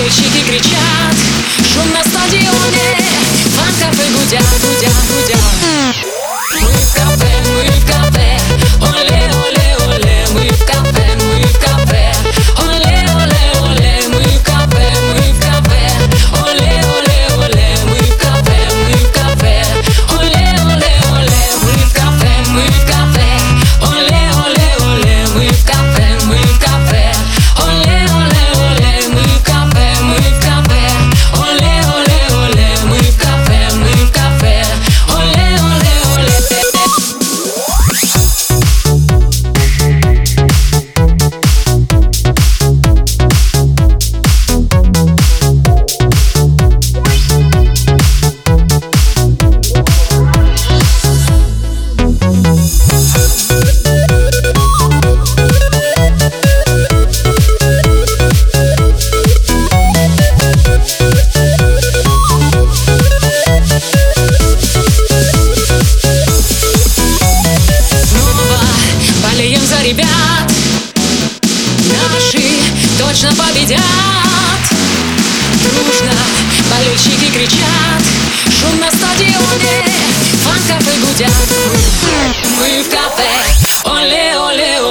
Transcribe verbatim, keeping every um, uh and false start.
болельщики кричат, шум на стадионе, фан-кафе гудят, гудят, гудят. Мы в кафе, мы в кафе, оле, оле, оле, мы в кафе, мы в кафе, оле, оле, оле, мы в кафе, мы в кафе, оле, оле, оле, мы в кафе, мы в кафе, оле, оле, оле, мы в кафе, мы в кафе, оле, оле, оле, мы в кафе, мы в кафе, оле, оле, оле, мы в кафе, мы в кафе, оле, оле, оле, мы в кафе, мы в кафе, оле, оле, оле. За ребят наши точно победят. Дружно болельщики кричат, шум на стадионе, фан-кафе гудят. Мы в кафе, оле, оле,